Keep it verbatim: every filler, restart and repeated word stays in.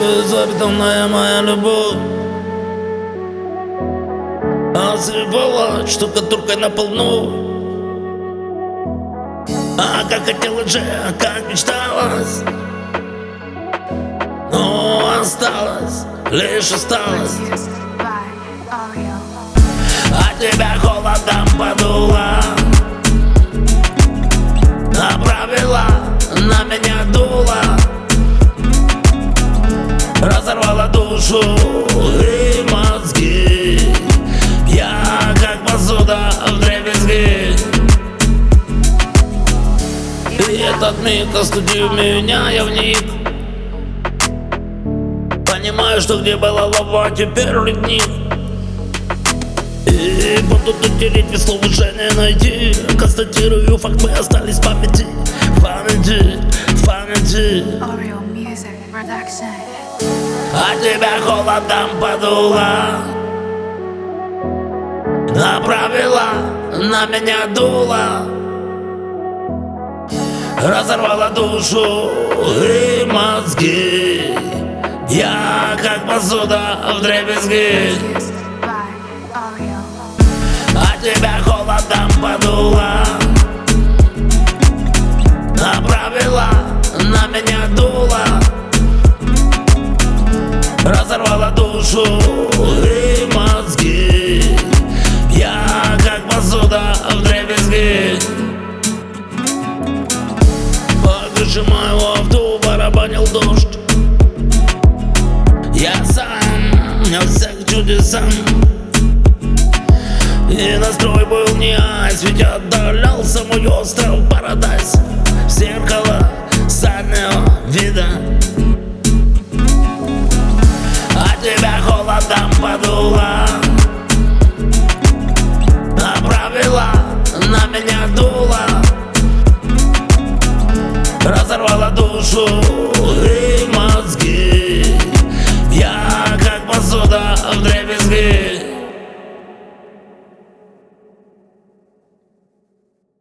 безответная моя любовь осыпала штукатуркой на полну. А как хотелось же, как мечталось, но осталось лишь осталось. А тебя холодом подуло, направила на меня дуло, разорвала душу и мозги. Я как посуда вдребезги. И этот миг остудил меня, я вник. Понимаю, что где была лава, теперь ледник. И буду тут тереть, без слов уже не найти. Констатирую факт, мы остались в памяти, в памяти, в памяти. А тебя холодом подуло, направила на меня дуло, разорвала душу и мозги. Я как посуда вдребезги. А тебя холодом подуло, направила на меня дуло, разорвала душу и мозги. Я как посуда вдребезги. По крыше моего авто барабанил дождь. Я сам не всех чудесам. И настрой был не айс, ведь отдалялся мой остров Парадайз. В зеркало заднего вида. А тебя холодом подуло, направила на меня дуло, разорвала душу